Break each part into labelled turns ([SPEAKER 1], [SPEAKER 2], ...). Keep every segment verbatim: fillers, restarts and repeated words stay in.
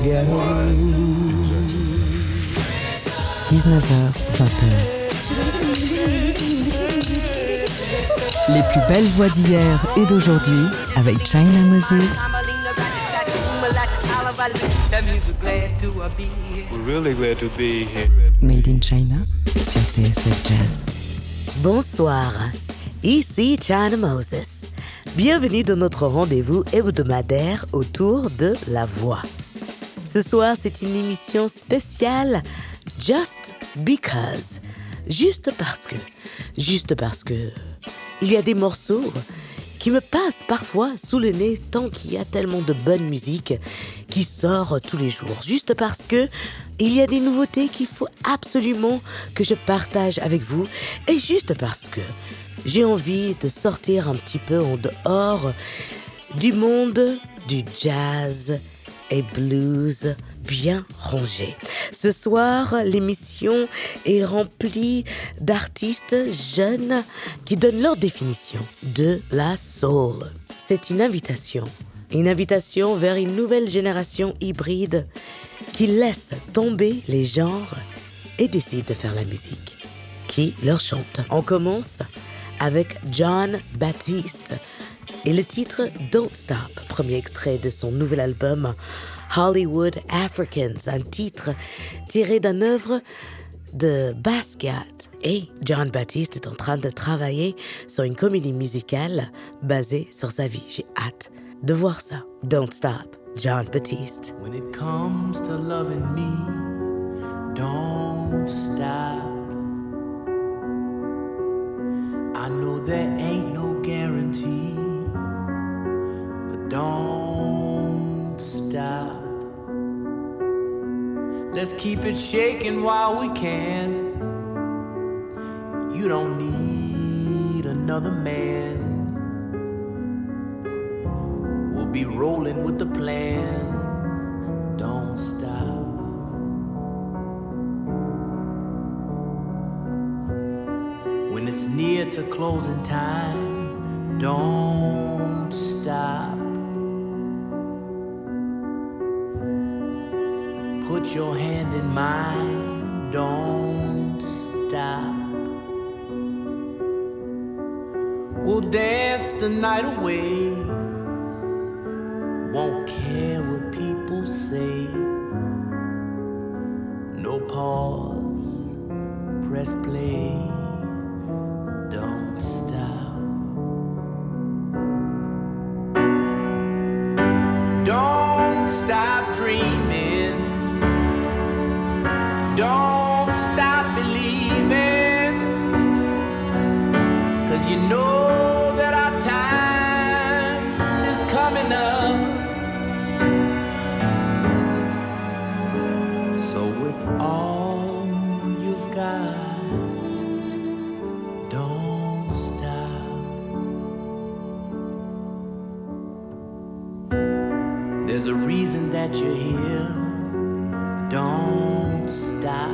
[SPEAKER 1] ghetto.
[SPEAKER 2] dix-neuf heures, vingt heures. Les plus belles voix d'hier et d'aujourd'hui avec China Moses.
[SPEAKER 1] We're really glad to be here.
[SPEAKER 2] Made in China sur T S F Jazz.
[SPEAKER 3] Bonsoir, ici China Moses. Bienvenue dans notre rendez-vous hebdomadaire autour de la voix. Ce soir, c'est une émission spéciale Just Because. Juste parce que. Juste parce que. Il y a des morceaux qui me passent parfois sous le nez tant qu'il y a tellement de bonne musique qui sort tous les jours. Juste parce que il y a des nouveautés qu'il faut absolument que je partage avec vous. Et juste parce que j'ai envie de sortir un petit peu en dehors du monde du jazz et blues bien rangé. Ce soir, l'émission est remplie d'artistes jeunes qui donnent leur définition de la soul. C'est une invitation, une invitation vers une nouvelle génération hybride qui laisse tomber les genres et décide de faire la musique qui leur chante. On commence avec Jon Batiste et le titre Don't Stop, premier extrait de son nouvel album Hollywood Africans, un titre tiré d'une œuvre de Basquiat. Et Jon Batiste est en train de travailler sur une comédie musicale basée sur sa vie. J'ai hâte de voir ça. Don't Stop, Jon Batiste.
[SPEAKER 4] When it comes to loving me, don't stop. I know there ain't no guarantee, but don't stop. Let's keep it shaking while we can. You don't need another man. We'll be rolling with the plan. Don't stop. When it's near to closing time, don't stop. Put your hand in mine, don't stop. We'll dance the night away. Won't care what people say. No pause, press play. Don't stop. Don't stop dreaming. Don't stop believing. 'Cause you know that our time is coming up. So with all you've got, don't stop. There's a reason that you're here. Don't stop.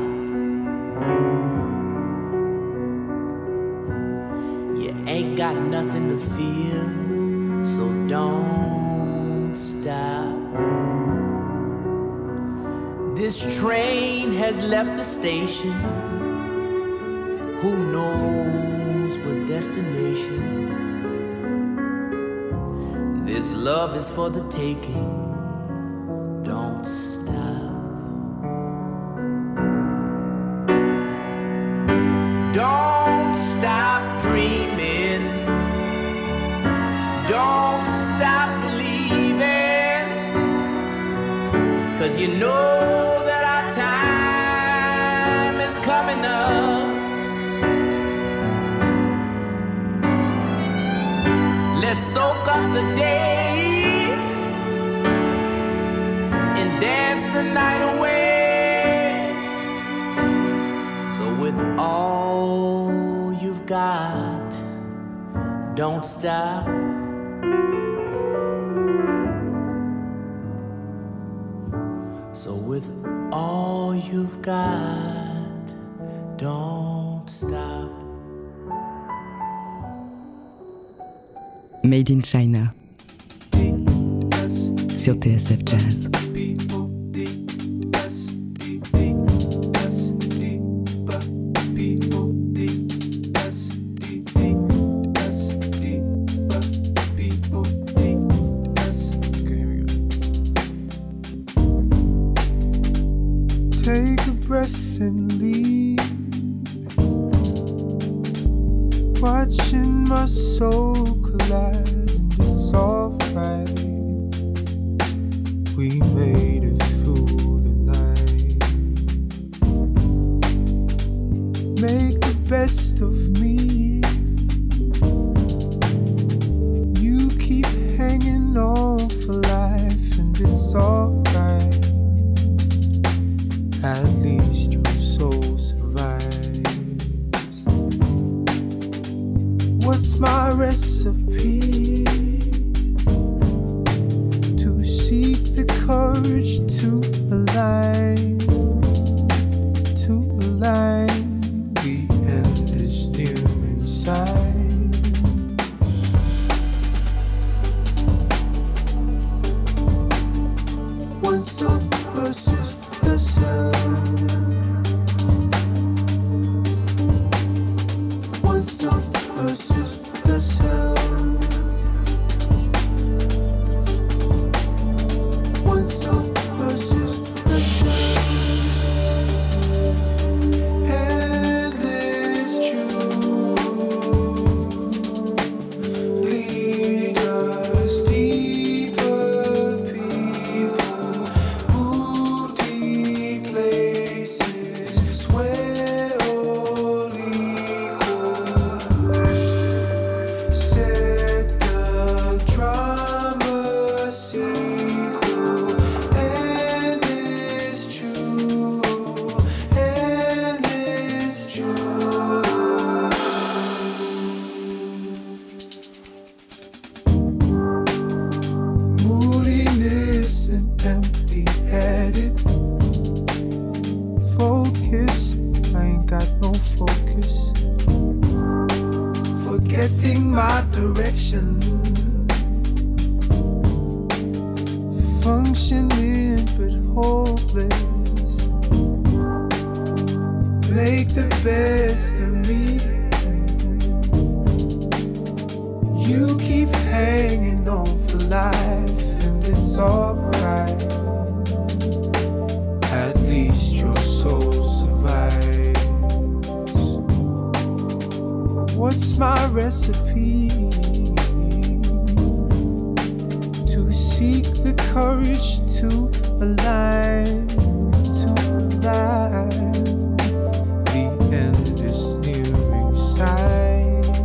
[SPEAKER 4] You ain't got nothing to fear, so don't stop. This train has left the station. Who knows what destination? This love is for the taking. Don't stop. Don't stop dreaming. Don't stop believing. 'Cause you know that our time is coming up. Let's soak up the day and dance the night away. So with all you've got, don't stop. So with all you've got, don't stop.
[SPEAKER 2] Made in China sur T S F Jazz.
[SPEAKER 5] watching my soul collide, and it's alright. We made it through the night. Make the best of me. You keep hanging on for life, and it's alright. At least your soul survives. What's my recipe? To seek the courage to align, to align. The end is near inside. Once up versus the sound. Once up versus the sound. Once up versus the sound. And it's true. Lead us deeper, people. Move deep places where all equal. Set the drama sequel. And it's true. And it's true. Moodiness and empty-headed focus. I ain't got no focus. Forgetting my direction. Functioning but hopeless. Make the best of me. You keep hanging on for life, and it's alright. At least your soul survives. What's my recipe? To seek the courage to align, to align. The end is near inside.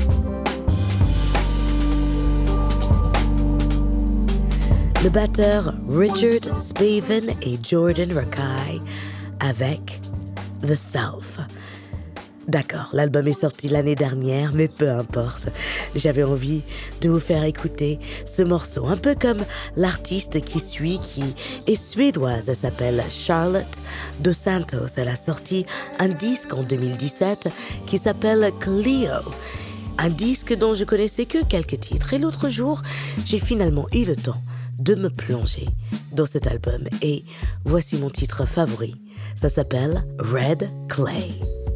[SPEAKER 3] Le batteur Richard Spaven et Jordan Rakei avec The Self. D'accord, l'album est sorti l'année dernière, mais peu importe. J'avais envie de vous faire écouter ce morceau, un peu comme l'artiste qui suit, qui est suédoise. Elle s'appelle Charlotte Dos Santos. Elle a sorti un disque en deux mille dix-sept qui s'appelle Cleo. Un disque dont je connaissais que quelques titres. Et l'autre jour, j'ai finalement eu le temps de me plonger dans cet album. Et voici mon titre favori. Ça s'appelle Red Clay.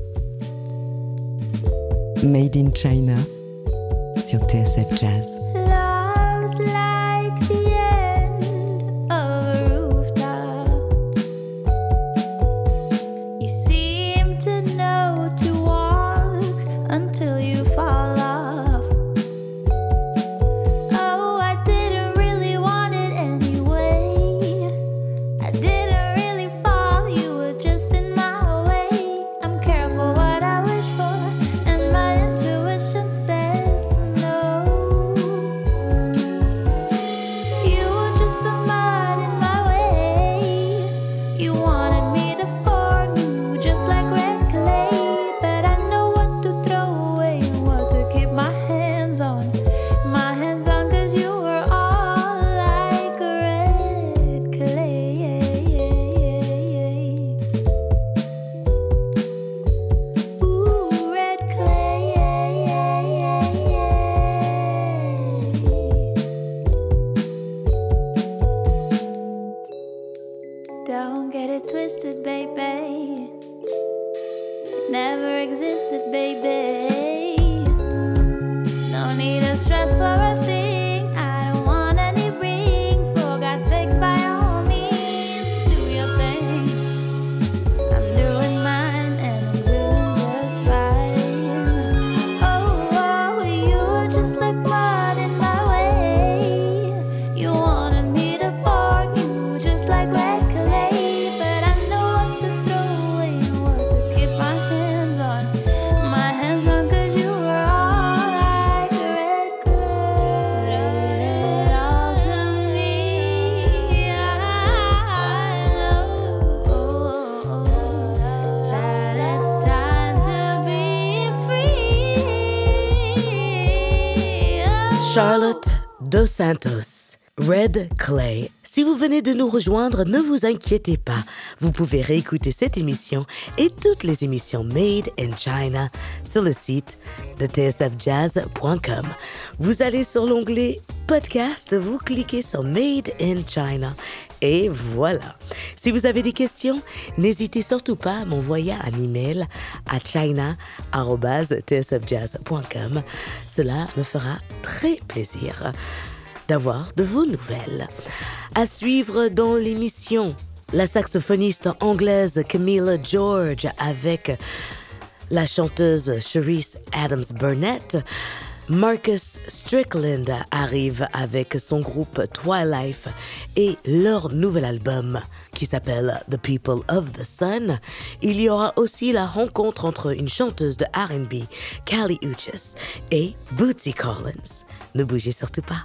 [SPEAKER 2] Made in China sur T S F Jazz.
[SPEAKER 6] Love's like the end of a rooftop. You seem to know to walk until you fall off. Oh, I didn't really want it anyway. I didn't really fall, you were just in my way. I'm careful what I wish for, and my intuition says no.
[SPEAKER 3] Charlotte Dos Santos, Red Clay. Si vous venez de nous rejoindre, ne vous inquiétez pas. Vous pouvez réécouter cette émission et toutes les émissions Made in China sur le site de t s f jazz point com. Vous allez sur l'onglet Podcast, vous cliquez sur Made in China et voilà. Si vous avez des questions, n'hésitez surtout pas à m'envoyer un email à china arobase t s f jazz point com. Cela me fera très plaisir d'avoir de vos nouvelles. À suivre dans l'émission, la saxophoniste anglaise Camilla George avec la chanteuse Cherise Adams Burnett. Marcus Strickland arrive avec son groupe Twilife et leur nouvel album qui s'appelle The People of the Sun. Il y aura aussi la rencontre entre une chanteuse de R and B, Kali Uchis, et Bootsy Collins. Ne bougez surtout pas.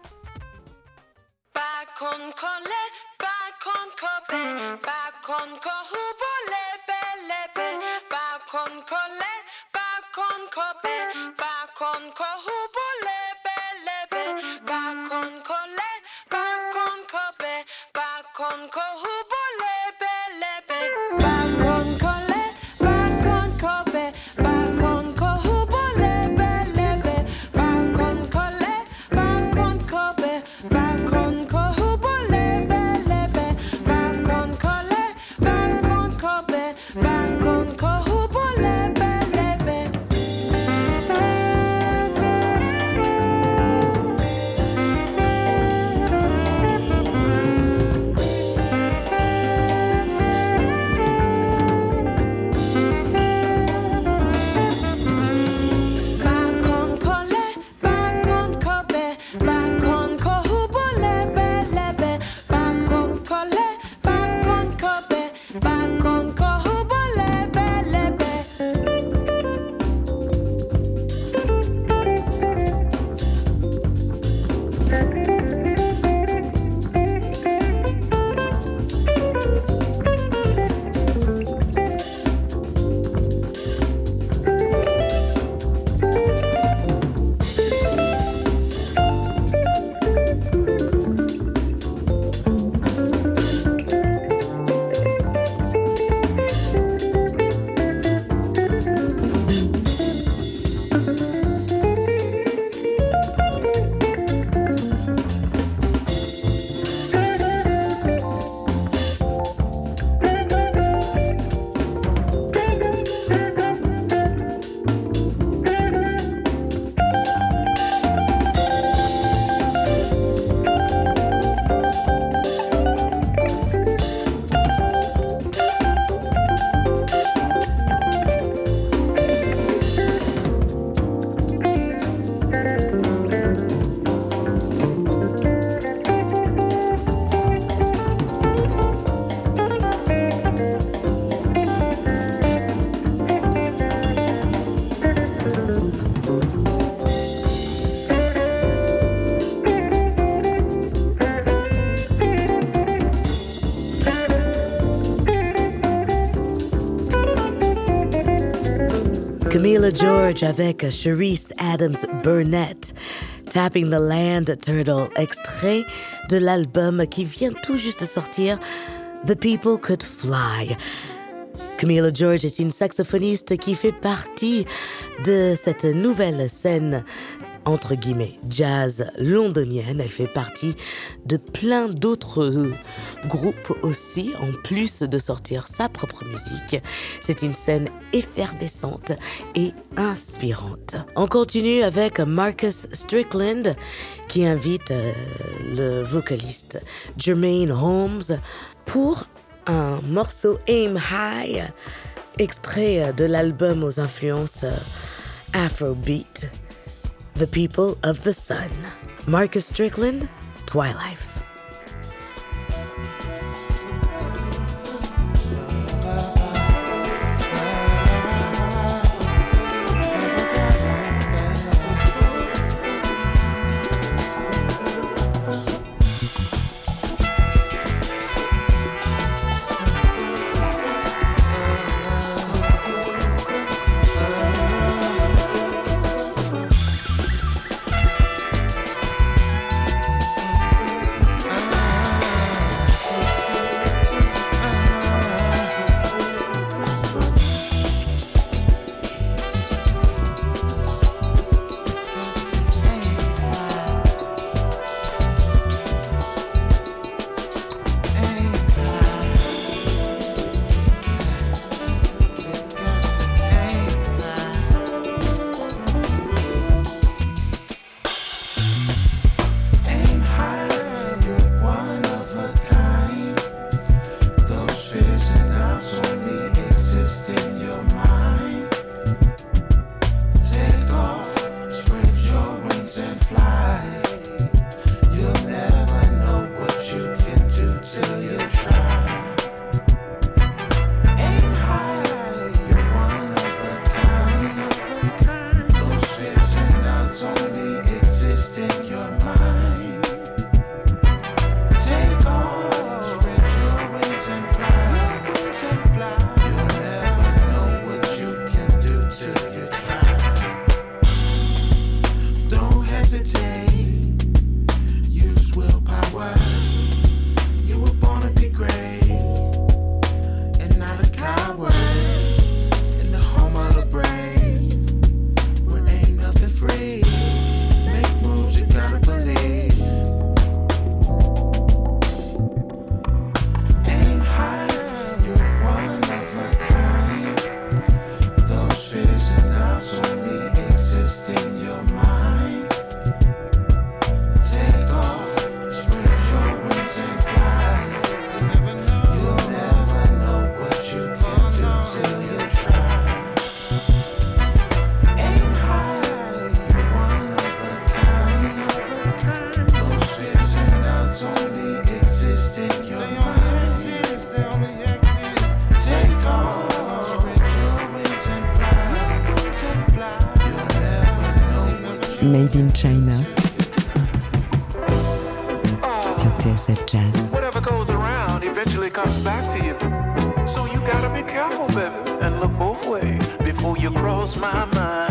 [SPEAKER 7] Bakon kole, bakon kobe, bakon kohubo lebe lebe, bakon kole, bakon kobe, bakon kohubo lebe lebe, bakon kole, bakon kobe, bakon kohubo lebe lebe, bakon kole, bakon kobe, bakon kohubo lebe lebe, bakon kole, bakon kobe, bakon kohubo lebe lebe, bakon kole, bakon kobe, bakon kohubo lebe lebe. Bakon kole, bakon kobe, bakon kohubo lebe lebe, bakon kole, bakon kobe, bakon kohubo lebe lebe.
[SPEAKER 3] Camilla George avec Cherise Adams Burnett, Tapping the Land Turtle, extrait de l'album qui vient tout juste de sortir, The People Could Fly. Camilla George est une saxophoniste qui fait partie de cette nouvelle scène entre guillemets jazz londonienne. Elle fait partie de plein d'autres groupes aussi, en plus de sortir sa propre musique. C'est une scène effervescente et inspirante. On continue avec Marcus Strickland qui invite euh, le vocaliste Jermaine Holmes pour un morceau Aim High, extrait de l'album aux influences Afrobeat, The People of the Sun. Marcus Strickland, Twilife.
[SPEAKER 2] Made in China sur T S F Jazz.
[SPEAKER 1] Whatever goes around eventually comes back to you. So you gotta be careful, baby, and look both ways before you cross my mind.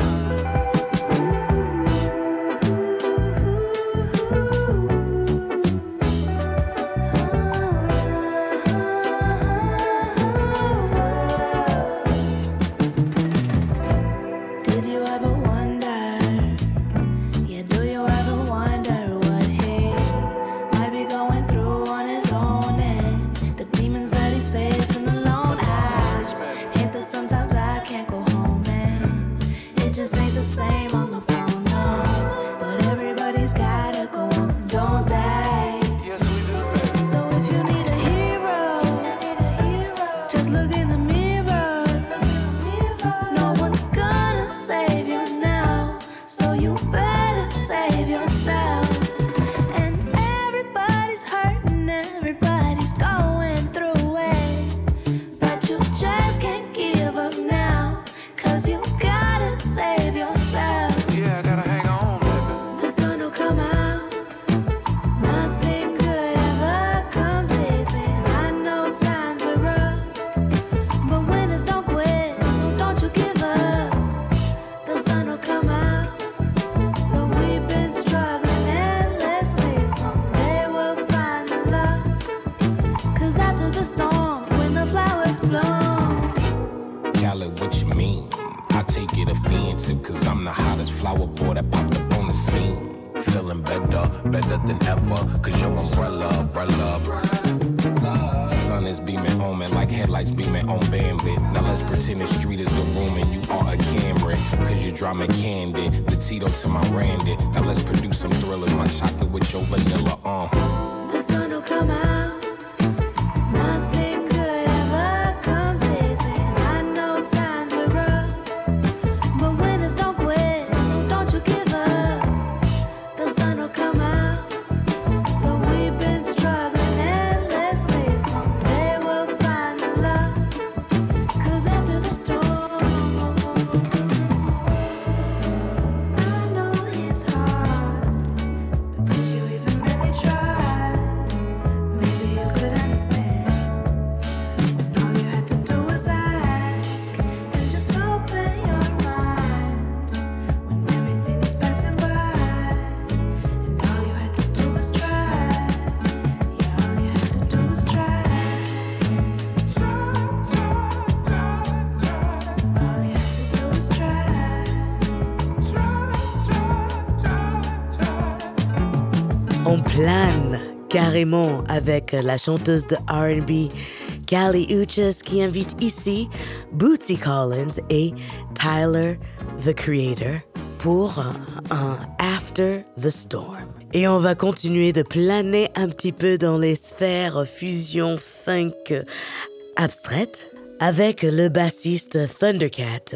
[SPEAKER 3] On plane carrément avec la chanteuse de R and B Kali Uchis qui invite ici Bootsy Collins et Tyler, the Creator, pour un After the Storm. Et on va continuer de planer un petit peu dans les sphères fusion funk abstraites avec le bassiste Thundercat,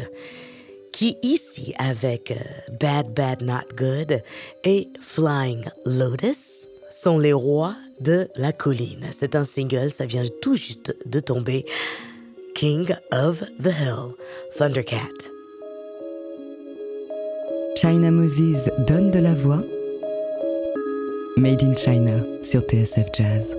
[SPEAKER 3] qui ici avec Bad Bad Not Good et Flying Lotus sont les rois de la colline. C'est un single, ça vient tout juste de tomber. King of the Hill, Thundercat.
[SPEAKER 2] China Moses donne de la voix. Made in China sur T S F Jazz.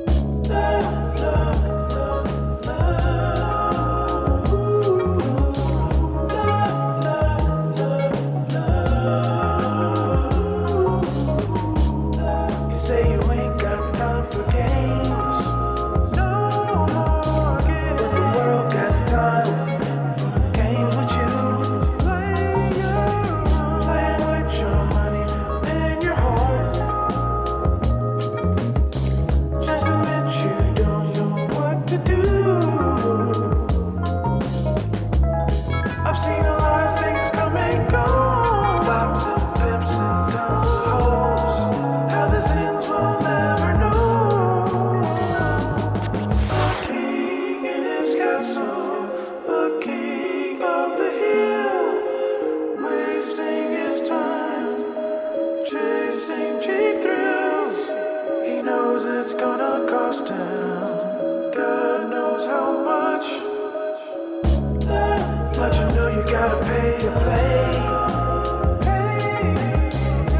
[SPEAKER 5] But you know you gotta pay to play.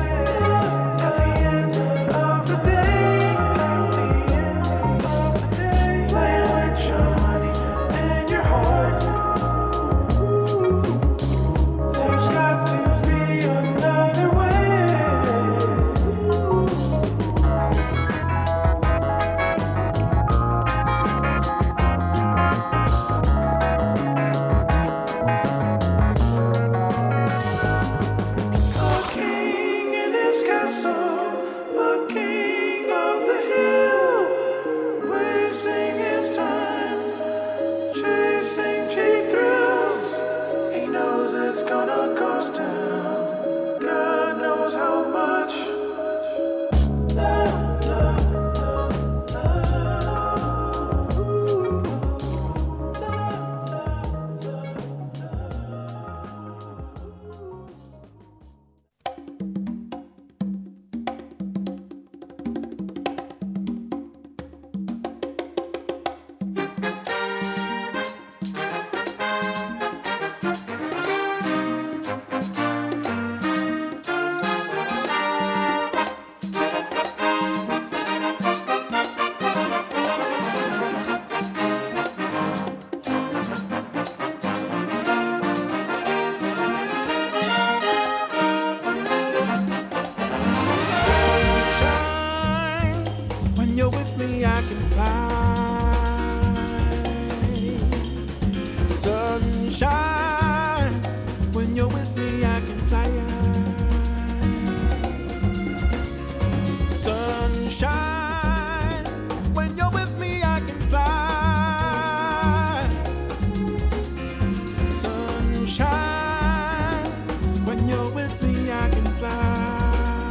[SPEAKER 5] When you're with me, I can fly.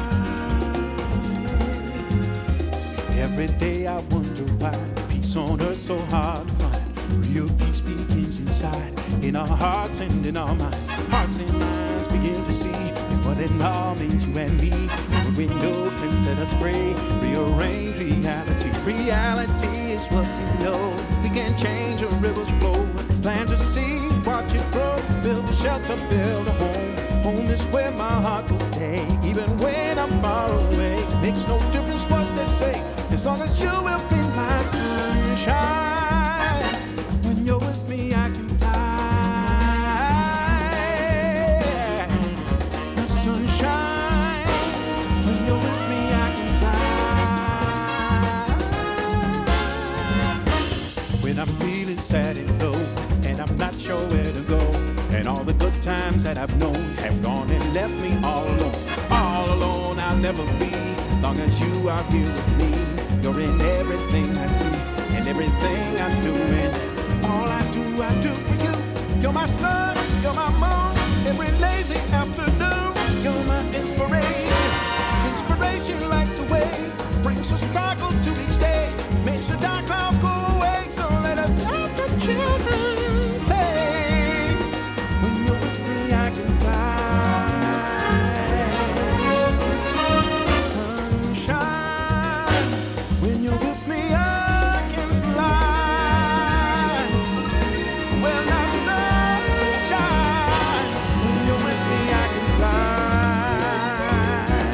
[SPEAKER 5] Every day I wonder why peace on earth so hard to find. Real peace begins inside, in our hearts and in our minds. Hearts and minds begin to see what it all means, you and me. A window can set us free, rearrange reality. Reality is what we know. We can change a river's flow, plant a seed, watch it grow, build a shelter, build a home. Home is where my heart will stay, even when I'm far away. Makes no difference what they say, as long as you will be my sunshine. When you're with me, I can fly. The sunshine. When you're with me, I can fly. When I'm feeling sad and low, and I'm not sure where to go, and all the good times that I've known have gone and left me all alone. All alone I'll never be, long as you are here with me. You're in everything I see, and everything I'm doing. All I do, I do for you. You're my sun, you're my moon, every lazy afternoon. You're my inspiration. Inspiration lights the way, brings a sparkle to each day, makes the dark clouds go away. So let us let the children play. When you're with me, I can fly. Sunshine. When you're with me, I can fly. Well, now sunshine. When you're with me, I can fly.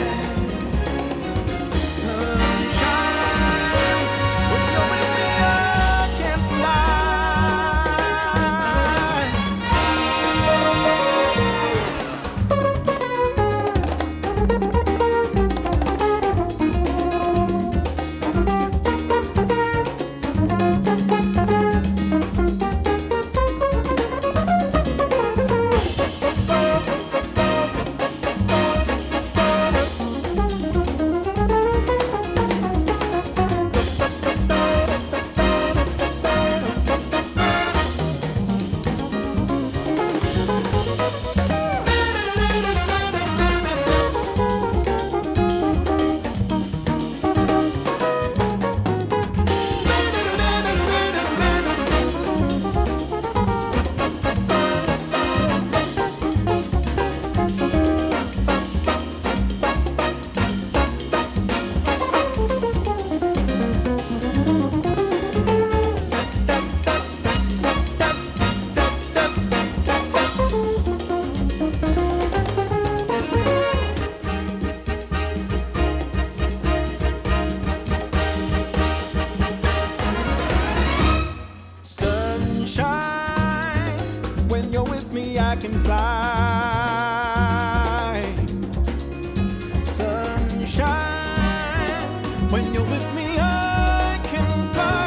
[SPEAKER 5] Sunshine. When you're with me, I can fly. Sunshine, when you're with me, I can fly. Sunshine, when you're with me, I can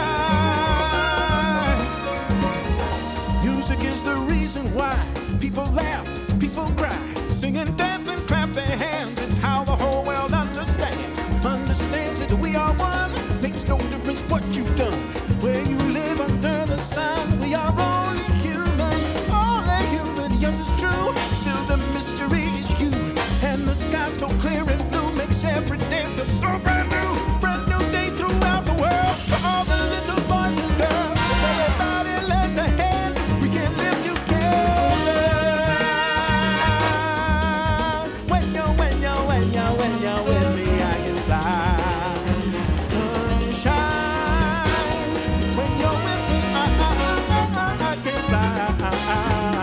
[SPEAKER 5] fly. Music is the reason why people laugh, people cry, sing and dance and clap their hands. It's how the whole world understands, understands that we are one. Makes no difference what you've done, where you live under the sun. We are only human, only human. Yes, it's true. Still the mystery is you, and the sky so clear and blue makes every day feel so brand new. Brand new day throughout the world for all the little boys and girls. Everybody lends a hand, we can live together. When you're, when you're, when you're, when you're with me, I can fly. Sunshine, when you're with me, I, I, I, I, I can fly.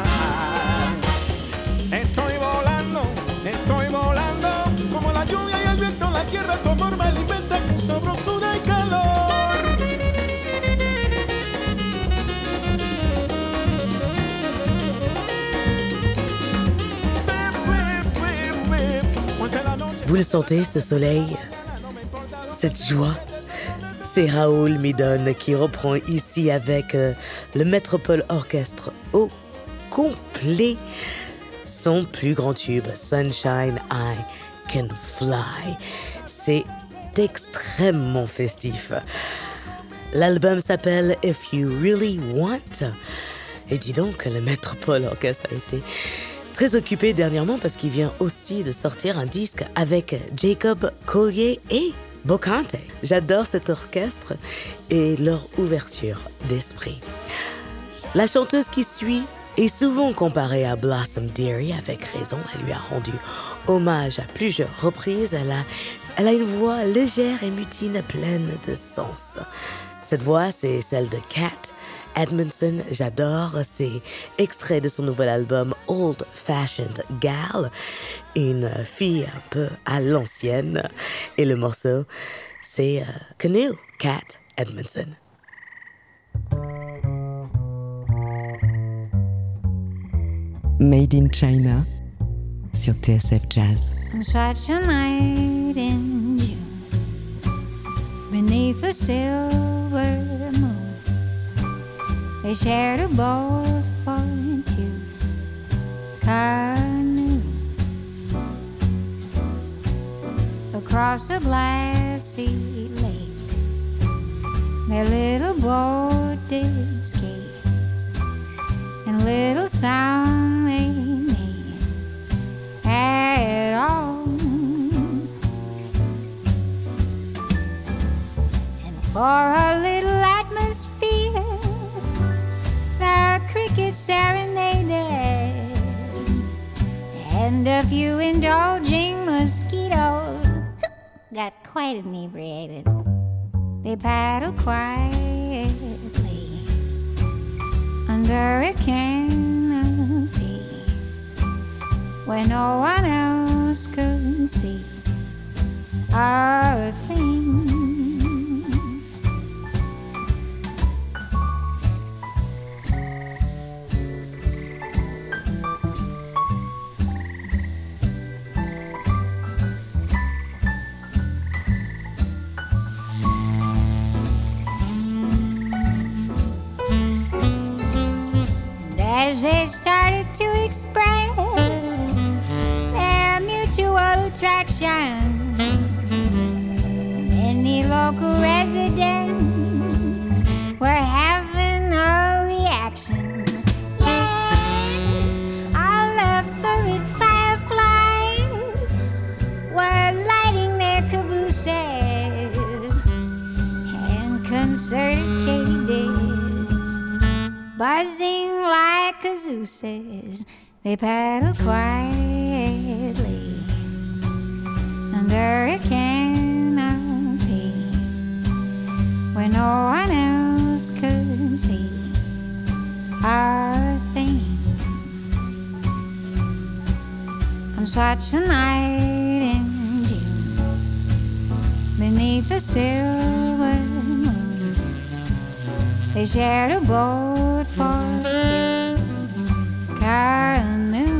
[SPEAKER 5] Estoy volando, estoy volando, como la lluvia y el viento en la tierra, tu amor me alimenta con sabrosura y calor.
[SPEAKER 3] Vous le sentez, ce soleil, cette joie? C'est Raoul Midon qui reprend ici avec euh, le Metropole Orchestre au complet son plus grand tube, Sunshine, I Can Fly. C'est extrêmement festif. L'album s'appelle If You Really Want. Et dis donc que le Metropole Orchestre a été Très occupé dernièrement parce qu'il vient aussi de sortir un disque avec Jacob Collier et Bocante. J'adore cet orchestre et leur ouverture d'esprit. La chanteuse qui suit est souvent comparée à Blossom Dearie, avec raison. Elle lui a rendu hommage à plusieurs reprises. Elle a, elle a une voix légère et mutine, pleine de sens. Cette voix, c'est celle de Kat Edmondson. J'adore ces extraits de son nouvel album Old Fashioned Gal, une fille un peu à l'ancienne. Et le morceau, c'est euh, Canoe, Kat Edmondson.
[SPEAKER 2] Made in China sur T S F Jazz.
[SPEAKER 8] On such a night in June, beneath a silver moon, they shared a boat for two canoe across a glassy lake. Their little boat did skate, and little sound they made at all. And for a little atmosphere, the crickets serenaded, and a few indulging mosquitoes got quite inebriated. They paddled quietly under a canopy where no one else could see a thing. As they started to express their mutual attraction, many local residents were having a reaction. Yes, all the furry fireflies were lighting their cabooses, and concerted katydids buzzing like cazooses. They paddled quietly under a canopy where no one else could see a thing. On such a night in June, beneath a silver moon, they shared a boat for two canoe.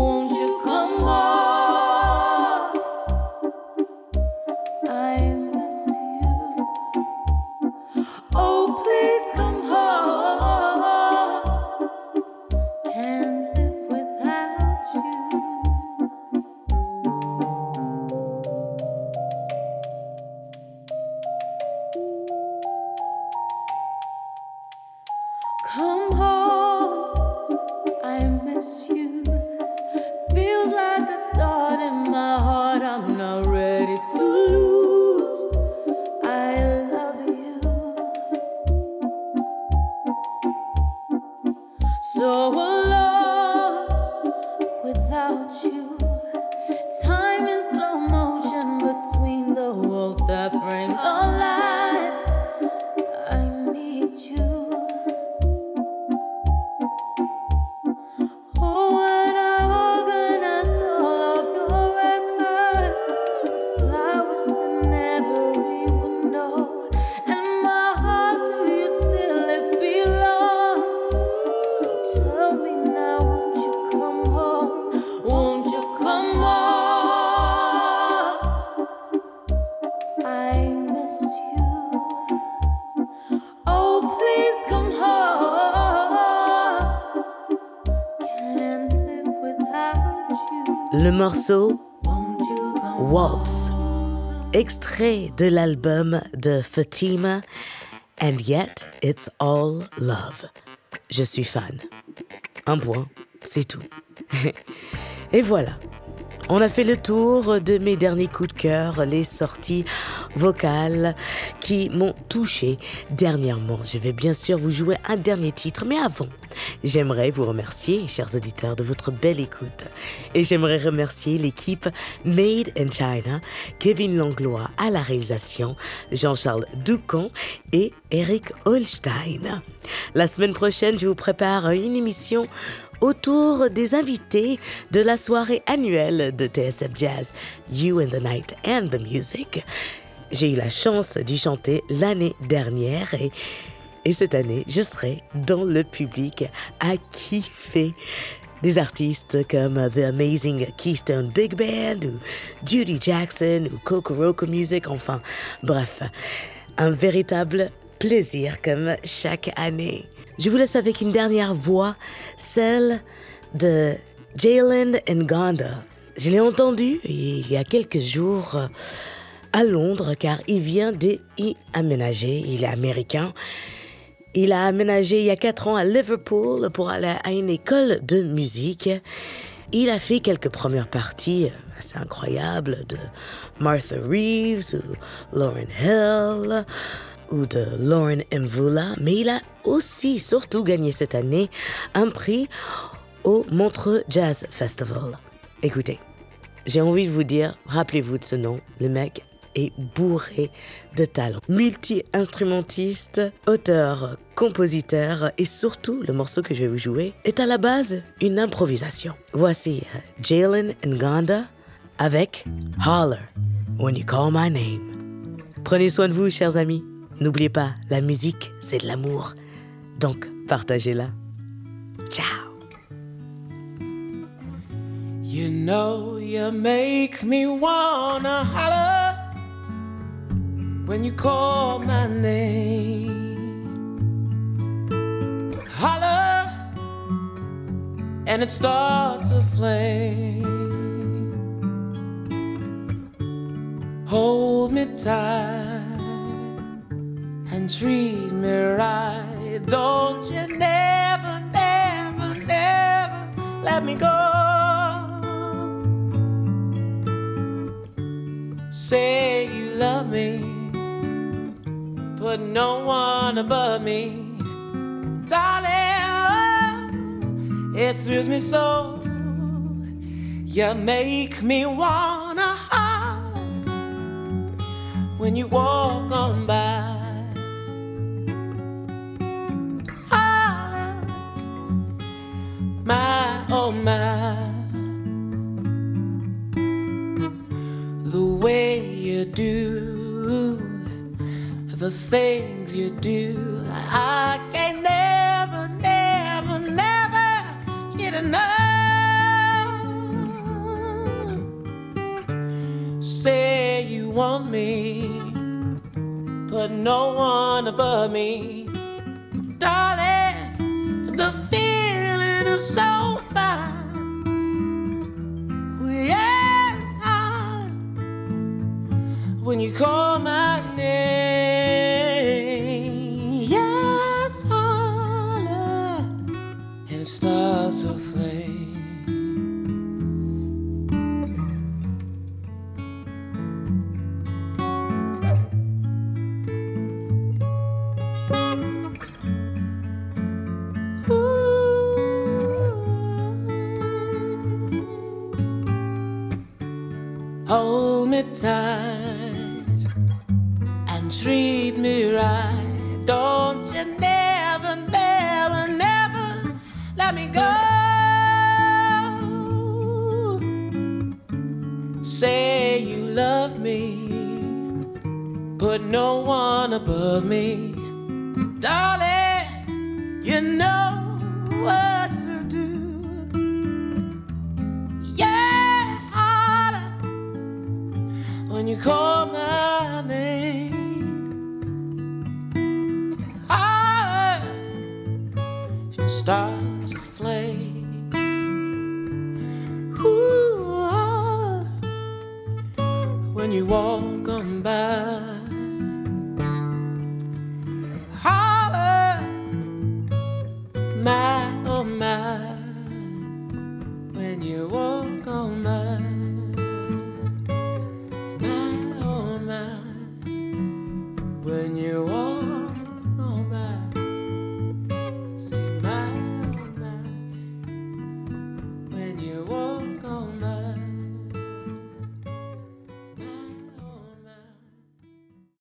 [SPEAKER 6] I miss
[SPEAKER 7] my friend alive. I need you. Oh, when I organized all of your records, flowers in every window, and my heart to you still it belongs. So tell me now, won't you come home? Won't you come home? I miss you. Oh, please come home. Can't live without you.
[SPEAKER 3] Le morceau
[SPEAKER 7] Won't you come
[SPEAKER 3] Waltz, extrait de l'album de Fatima, And Yet It's All Love. Je suis fan. Un point, c'est tout. Et voilà, on a fait le tour de mes derniers coups de cœur, les sorties vocales qui m'ont touché dernièrement. Je vais bien sûr vous jouer un dernier titre, mais avant, j'aimerais vous remercier, chers auditeurs, de votre belle écoute. Et j'aimerais remercier l'équipe Made in China, Kevin Langlois à la réalisation, Jean-Charles Doucan et Eric Holstein. La semaine prochaine, je vous prépare une émission autour des invités de la soirée annuelle de T S F Jazz, You and the Night and the Music. J'ai eu la chance d'y chanter l'année dernière et, et cette année, je serai dans le public à kiffer des artistes comme The Amazing Keystone Big Band ou Judy Jackson ou Kokoroko Music, enfin bref, un véritable plaisir comme chaque année. Je vous laisse avec une dernière voix, celle de Jalen Nganda. Je l'ai entendu il y a quelques jours à Londres car il vient d'y aménager, il est américain. Il a aménagé il y a quatre ans à Liverpool pour aller à une école de musique. Il a fait quelques premières parties assez incroyables de Martha Reeves ou Lauryn Hill ou de Lauren Mvula, mais il a aussi surtout gagné cette année un prix au Montreux Jazz Festival. Écoutez, j'ai envie de vous dire, rappelez-vous de ce nom, le mec est bourré de talent. Multi-instrumentiste, auteur, compositeur et surtout, le morceau que je vais vous jouer est à la base une improvisation. Voici Jalen Nganda avec Holler When You Call My Name. Prenez soin de vous, chers amis. N'oubliez pas, la musique, c'est de l'amour. Donc, partagez-la. Ciao.
[SPEAKER 4] You know you make me wanna holler when you call my name. Holler and it starts a flame. Hold me tight and treat me right. Don't you never, never, never let me go. Say you love me, but no one above me. Darling, oh, it thrills me so. You make me wanna holler when you walk on by. My, oh my, the way you do, the things you do, I can never, never, never get enough. Say you want me, but no one above me. Darling, the feeling is so fine. Yes, I, when you call my name, yes, I, and it starts to flame. Hold me tight and treat me right. Don't you never, never, never let me go. Say you love me, put no one above me. Darling, you know what to do. Yeah, harder when you call my name. Harder, it starts a flame. Ooh, harder when you walk on by. My, oh my, when you walk on my, my, oh my, when you walk